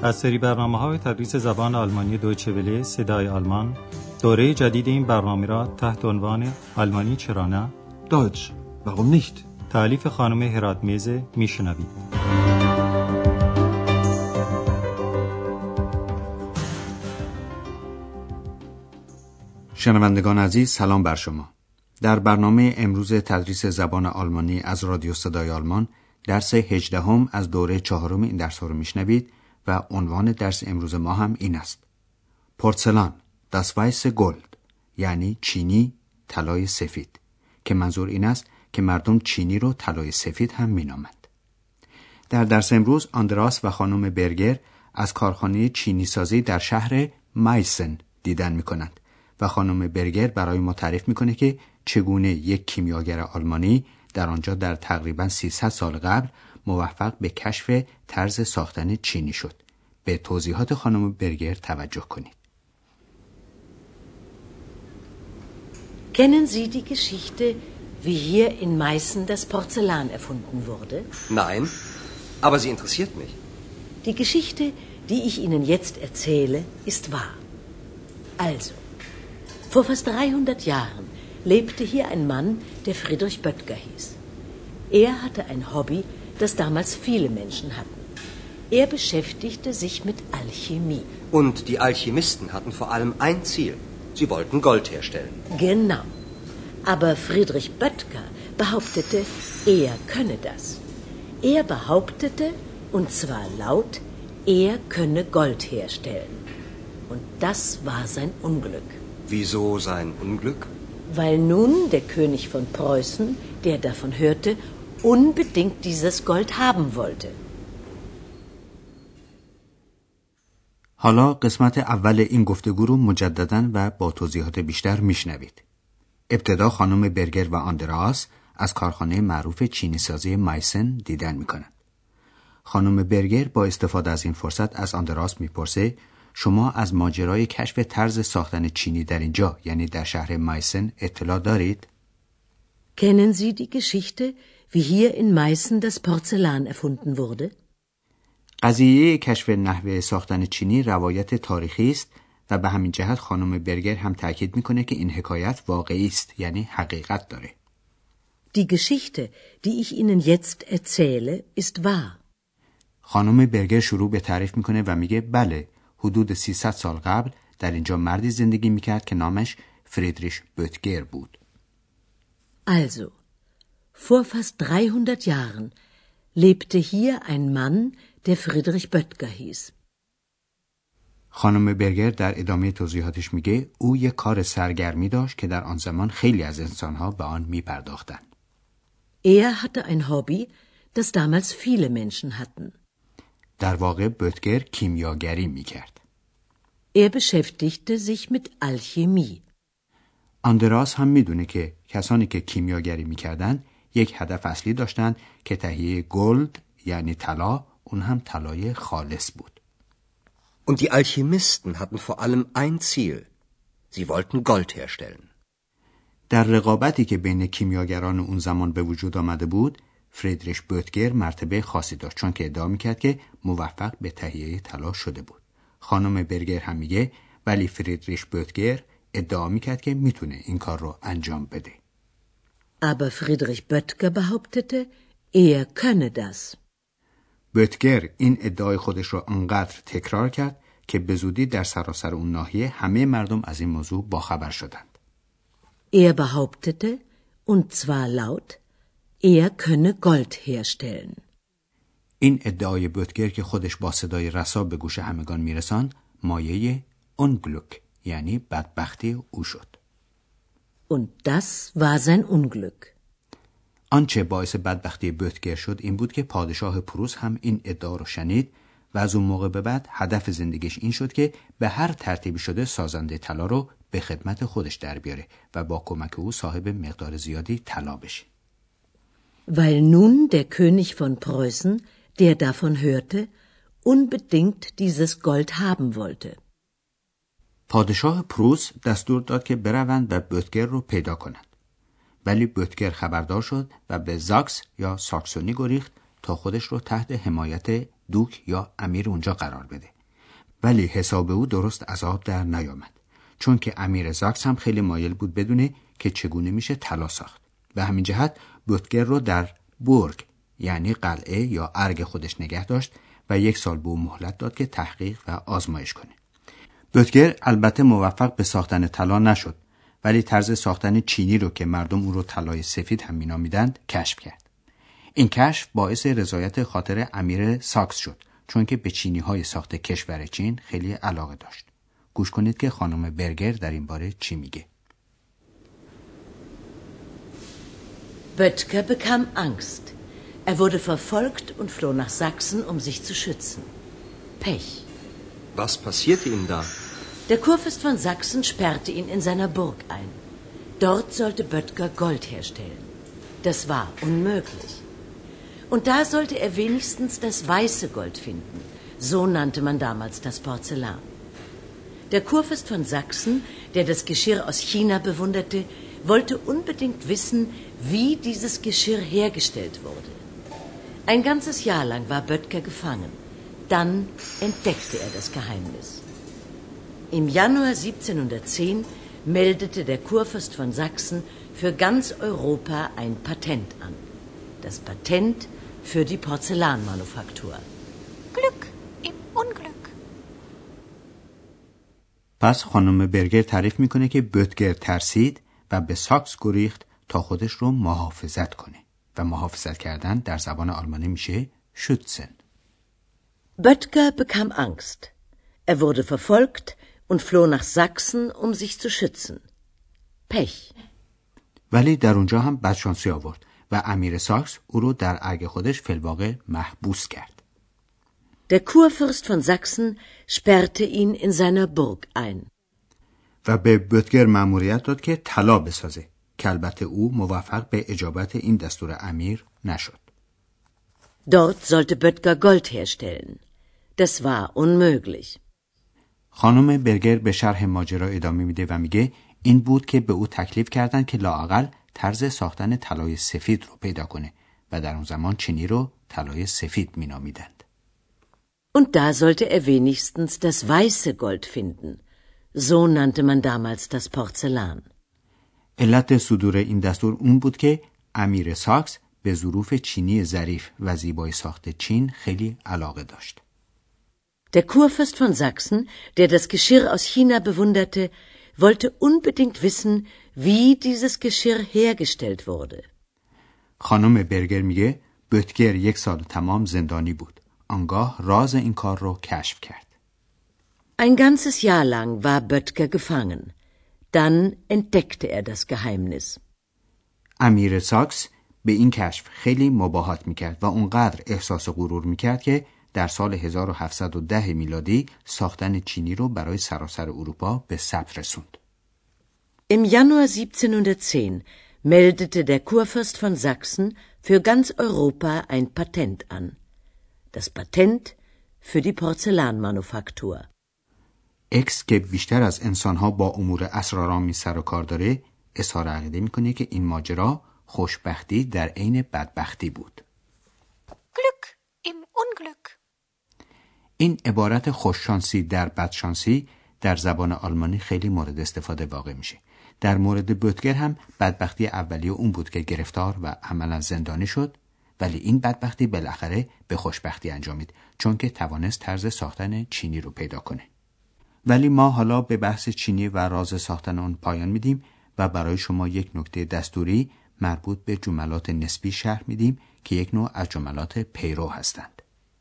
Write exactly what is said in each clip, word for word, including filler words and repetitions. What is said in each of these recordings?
از سری برنامه‌های تدریس زبان آلمانی دویچه وله صدای آلمان، دوره جدید این برنامه را تحت عنوان آلمانی چرا نه؟ Deutsch, warum nicht? تألیف خانم هراتمیز میشنوید. شنوندگان عزیز، سلام بر شما. در برنامه امروز تدریس زبان آلمانی از رادیو صدای آلمان درس هجدهم از دوره چهارم این درس ها رو میشنوید و عنوان درس امروز ما هم این است: پورسلان، das weiße Gold، یعنی چینی، طلای سفید، که منظور این است که مردم چینی رو طلای سفید هم مینامند. در درس امروز آندراس و خانم برگر از کارخانه چینی سازی در شهر مایسن دیدن میکنند و خانم برگر برای ما تعریف میکنه که چگونه یک کیمیاگر آلمانی در آنجا در تقریباً سیصد سال قبل موفق به کشف طرز ساختن چینی شد. به توضیحات خانم برگر توجه کنید. Kennen Sie die Geschichte, wie hier in Meißen das Porzellan erfunden wurde? Nein, aber sie interessiert mich. Die Geschichte, die ich Ihnen jetzt erzähle, ist wahr. Also, vor fast dreihundert Jahren lebte hier ein Mann, der Friedrich Böttger hieß. Er hatte ein Hobby, das damals viele Menschen hatten. Er beschäftigte sich mit Alchemie. Und die Alchemisten hatten vor allem ein Ziel. Sie wollten Gold herstellen. Genau. Aber Friedrich Böttger behauptete, er könne das. Er behauptete, und zwar laut, er könne Gold herstellen. Und das war sein Unglück. Wieso sein Unglück? Weil nun der König von Preußen, der davon hörte, unbedingt dieses Gold haben wollte. حالا قسمت اول این گفتگو رو مجدداً و با توضیحات بیشتر میشنوید. ابتدا خانم برگر و آندراس از کارخانه معروف چینی سازی مایسن دیدن میکنند. خانم برگر با استفاده از این فرصت از آندراس میپرسه: شما از ماجرای کشف طرز ساختن چینی در اینجا، یعنی در شهر مایسن، اطلاع دارید؟ Kennen Sie die Geschichte, wie hier in Meißen das Porzellan erfunden wurde? قضیه کشف نحوه ساختن چینی روایت تاریخی است و به همین جهت خانم برگر هم تاکید میکنه که این حکایت واقعی است، یعنی حقیقت داره. Die Geschichte, die ich Ihnen jetzt erzähle, ist wahr. خانم برگر شروع به تعریف میکنه و میگه بله، حدود سیصد سال قبل در اینجا مردی زندگی میکرد که نامش فریدریش بöttger بود. Also, vor fast dreihundert Jahren lebte hier ein Mann, der Friedrich Böttger hieß. خانم برگر در ادامه توضیحاتش میگه او یک کار سرگرمی داشت که در آن زمان خیلی از انسانها به آن میپرداختند. Er hatte ein Hobby, das damals viele Menschen hatten. در واقع بöttger کیمیاگری میکرد. Er beschäftigte sich mit Alchemie. آندراس هم میدونه که کسانی که کیمیاگری میکردند یک هدف اصلی داشتند که تهیه گلد، یعنی طلا، اون هم طلای خالص بود. Und die Alchemisten hatten vor allem ein Ziel. Sie wollten Gold herstellen. در رقابتی که بین کیمیاگران اون زمان به وجود آمده بود، فریدریش بöttger مرتبه خاصی داشت، چون که ادعا میکرد که موفق به تهیه طلا شده بود. خانم برگر هم میگه ولی فریدریش بöttger ادعا میکرد که میتونه این کار رو انجام بده. Aber Friedrich Böttger behauptete, er könne das. بöttger این ادعای خودش رو انقدر تکرار کرد که به زودی در سراسر اون ناحیه همه مردم از این موضوع باخبر شدند. Er behauptete, und zwar laut, er könne Gold herstellen. این ادعای بöttger که خودش با صدای رسا به گوش همگان میرساند، مایه Unglück، یعنی بدبختی او شد. Und das war sein Unglück. آنچه باعث بدبختی بöttger شد این بود که پادشاه پروس هم این ادعا رو شنید و از اون موقع به بعد هدف زندگیش این شد که به هر ترتیبی شده سازنده طلا رو به خدمت خودش در بیاره و با کمک او صاحب مقدار زیادی طلا بشه. Weil nun der König von Preußen, der davon hörte, unbedingt dieses Gold haben wollte. پادشاه پروس دستور داد که بروند و بöttger رو پیدا کنند. ولی بöttger خبردار شد و به زاکس یا ساکسونی گریخت تا خودش رو تحت حمایت دوک یا امیر اونجا قرار بده ولی حساب او درست از آب در نیامد، چون که امیر زاکس هم خیلی مایل بود بدونه که چگونه میشه طلا ساخت. به همین جهت بوتگر رو در بورگ یعنی قلعه یا ارگ خودش نگه داشت و یک سال به او مهلت داد که تحقیق و آزمایش کنه. بوتگر البته موفق به ساختن طلا نشد، ولی طرز ساختن چینی رو که مردم اون رو طلای سفید هم مینامیدند کشف کرد. این کشف باعث رضایت خاطر امیر ساکس شد، چون که به چینی‌های ساخت کشور چین خیلی علاقه داشت. گوش کنید که خانم برگر در این باره چی میگه. Böttger bekam Angst. Er wurde verfolgt und floh nach Sachsen, um sich zu schützen. Pech. Was passierte ihm da? Der Kurfürst von Sachsen sperrte ihn in seiner Burg ein. Dort sollte Böttger Gold herstellen. Das war unmöglich. Und da sollte er wenigstens das weiße Gold finden. So nannte man damals das Porzellan. Der Kurfürst von Sachsen, der das Geschirr aus China bewunderte, wollte unbedingt wissen, wie dieses Geschirr hergestellt wurde. Ein ganzes Jahr lang war Böttger gefangen. Dann entdeckte er das Geheimnis. Im Januar siebzehnhundertzehn meldete der Kurfürst von Sachsen für ganz Europa ein Patent an. Das Patent für die Porzellanmanufaktur. Glück im Unglück. پس خانم برگر تعریف میکنه که بوتگر ترسید و به ساکس گریخت تا خودش رو محافظت کنه و محافظت کردن در زبان آلمانی میشه schützen. Böttger bekam Angst. Er wurde verfolgt und floh nach Sachsen, um sich zu schützen. Pech. ولی در اونجا هم بدشانسی آورد و امیر ساکس او رو در ارگ خودش فی‌الواقع محبوس کرد. Der Kurfürst von Sachsen sperrte ihn in seiner Burg ein. و به بوتگر مأموریت داد که طلا بسازه که البته او موفق به اجابت این دستور امیر نشد. Dort sollte Böttger Gold herstellen. Das war unmöglich. خانم برگر به شرح ماجرا ادامه میده و میگه این بود که به او تکلیف کردن که لااقل طرز ساختن طلای سفید رو پیدا کنه و در اون زمان چینی رو طلای سفید مینامیدند. Und da sollte er wenigstens das weiße Gold finden. So nannte man damals das Porzellan. علت صدور این دستور اون بود که امیر ساکس به ظروف چینی ظریف و زیبای ساخت چین خیلی علاقه داشت. Der Kurfürst von Sachsen, der das Geschirr aus China bewunderte, wollte unbedingt wissen, wie dieses Geschirr hergestellt wurde. خانم برگر میگه بوتگر یک سال تمام زندانی بود. آنگاه راز این کار رو کشف کرد. Ein ganzes Jahr lang war Böttger gefangen. Dann entdeckte er das Geheimnis. امیر ساکس به این کشف خیلی مباهات میکرد و اونقدر احساس غرور میکرد که در سال هزار و هفتصد و ده میلادی ساختن چینی رو برای سراسر اروپا به ثبت رسوند. Im Januar siebzehnhundertzehn meldete der Kurfürst von Sachsen für ganz Europa ein Patent an. Das Patent für die Porzellanmanufaktur. اکس که بیشتر از انسانها با امور اسرارآمیز سر و کار داره اظهار عقیده میکنه که این ماجرا خوشبختی در عین بدبختی بود. Glück im Unglück. این عبارت خوششانسی در بدشانسی در زبان آلمانی خیلی مورد استفاده واقع میشه. در مورد بوتگر هم بدبختی اولیه اون بود که گرفتار و عملا زندانی شد، ولی این بدبختی بالاخره به خوشبختی انجامید چون که توانست طرز ساختن چینی رو پیدا کنه. ولی ما حالا به بحث چینی و راز ساختن اون پایان میدیم و برای شما یک نکته دستوری مربوط به جملات نسبی شرح میدیم که یک نوع از جملات پیرو هستند.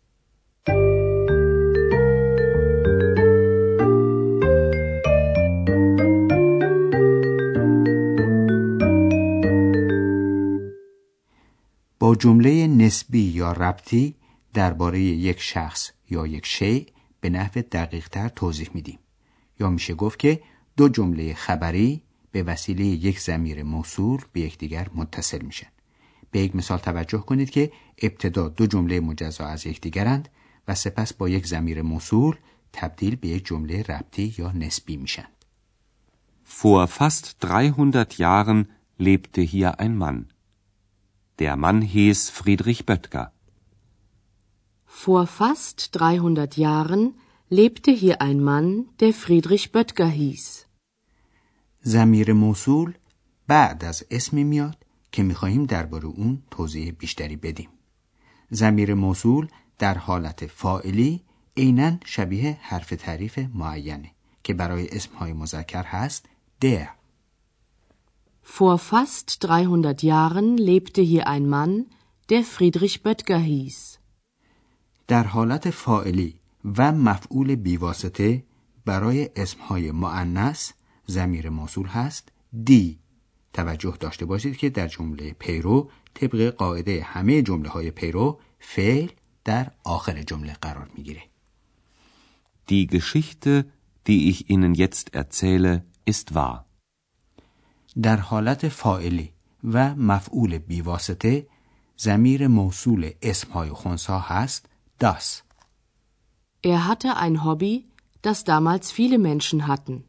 با جمله نسبی یا ربطی درباره یک شخص یا یک شیء به نحو دقیق‌تر توضیح میدیم. یا میشه گفت که دو جمله خبری به وسیله یک ضمیر موصول به یکدیگر متصل میشن. به یک مثال توجه کنید که ابتدا دو جمله مجزا از یکدیگرند و سپس با یک ضمیر موصول تبدیل به یک جمله ربطی یا نسبی میشن. Vor fast dreihundert Jahren lebte hier ein Mann. Der Mann hieß Friedrich Böttger. Vor fast dreihundert Jahren lebte hier ein Mann, der Friedrich Böttger hieß. ضمیر موصول بعد از اسمی میاد که میخواهیم درباره اون توضیح بیشتری بدیم. ضمیر موصول در حالت فاعلی عیناً شبیه حرف تعریف معینه که برای اسمهای مذکر هست der. Vor fast dreihundert Jahren lebte hier ein Mann, der Friedrich Böttger hieß. در حالت فاعلی و مفعول بیواسطه برای اسمهای مؤنث ضمیر موصول هست دی. توجه داشته باشید که در جمله پیرو طبق قاعده همه جمله های پیرو فعل در آخر جمله قرار میگیره. Die Geschichte, die ich Ihnen jetzt erzähle, ist wahr. در حالت فاعلی و مفعول بیواسطه ضمیر موصول اسمهای خنثی هست das. Er hatte ein Hobby, das damals viele Menschen hatten.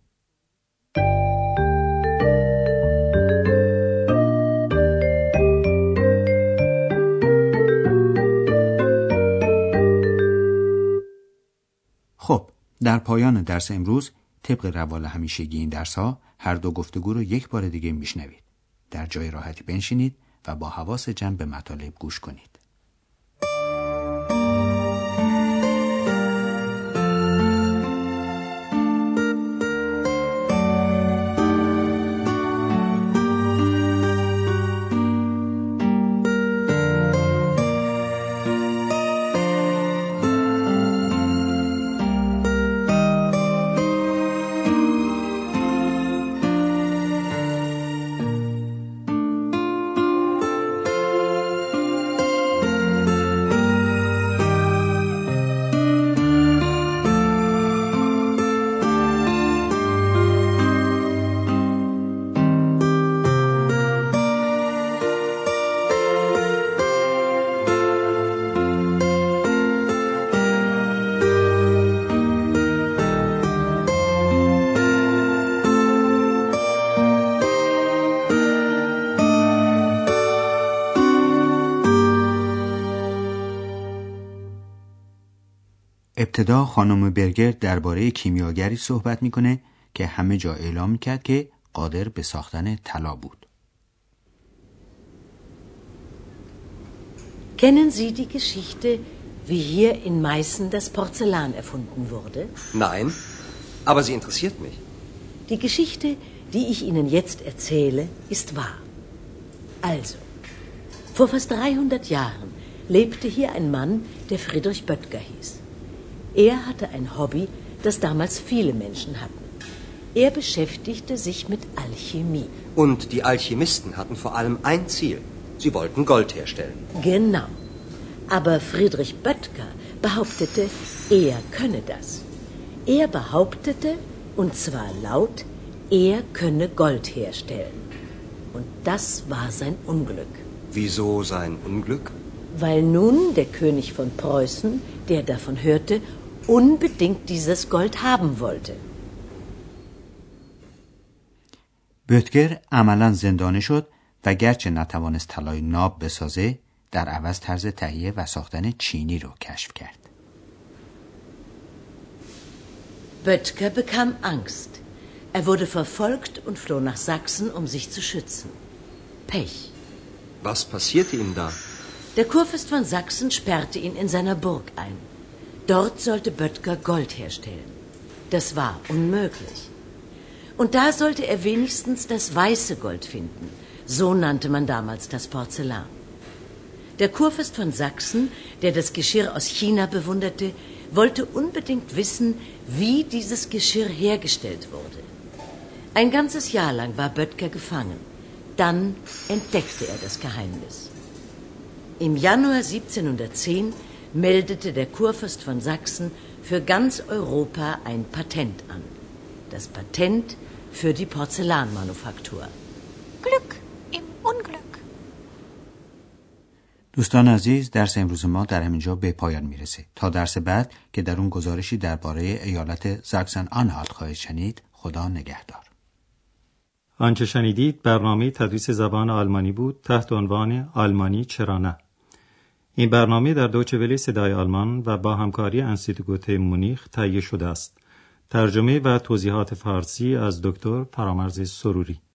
خب در پایان درس امروز طبق روال همیشگی این درس ها هر دو گفتگو رو یک بار دیگه میشنوید. در جای راحتی بنشینید و با حواس جمع به مطالب گوش کنید. ابتدا خانم برگر درباره کیمیاگری صحبت میکنه که همه جا اعلام میکرد که قادر به ساختن طلا بود. Kennen Sie die Geschichte, wie hier in Meißen das Porzellan erfunden wurde? Nein, aber sie interessiert mich. Die Geschichte, die ich Ihnen jetzt erzähle, ist wahr. Also, vor fast dreihundert Jahren lebte hier ein Mann, der Friedrich Böttger hieß. Er hatte ein Hobby, das damals viele Menschen hatten. Er beschäftigte sich mit Alchemie. Und die Alchemisten hatten vor allem ein Ziel. Sie wollten Gold herstellen. Genau. Aber Friedrich Böttger behauptete, er könne das. Er behauptete, und zwar laut, er könne Gold herstellen. Und das war sein Unglück. Wieso sein Unglück? Weil nun der König von Preußen, der davon hörte, unbedingt dieses Gold haben wollte. بöttger عملاً زندانی شد و گرچه نتوانست طلای ناب بسازه، در عوض طرز تهیه و ساختن چینی رو کشف کرد. Böttger bekam Angst. Er wurde verfolgt und floh nach Sachsen, um sich zu schützen. Pech. Was passierte ihm da? Der Kurfürst von Sachsen sperrte ihn in seiner Burg ein. Dort sollte Böttger Gold herstellen. Das war unmöglich. Und da sollte er wenigstens das weiße Gold finden. So nannte man damals das Porzellan. Der Kurfürst von Sachsen, der das Geschirr aus China bewunderte, wollte unbedingt wissen, wie dieses Geschirr hergestellt wurde. Ein ganzes Jahr lang war Böttger gefangen. Dann entdeckte er das Geheimnis. Im Januar siebzehnhundertzehn meldete der Kurfürst von Sachsen für ganz Europa ein Patent an. Das Patent für die Porzellanmanufaktur. Glück im Unglück. دوستان عزیز، درس امروز ما در همینجا به پایان میرسه. تا درس بعد که در اون گزارشی درباره ایالت زاکسن آنهالت خواهید شنید. خدا نگهدار. آنچه شنیدید برنامه تدریس زبان آلمانی بود تحت عنوان آلمانی چرا نه. این برنامه در دویچه وله صدای آلمان و با همکاری انستیتو گوته مونیخ تهیه شده است. ترجمه و توضیحات فارسی از دکتر فرامرز سروری.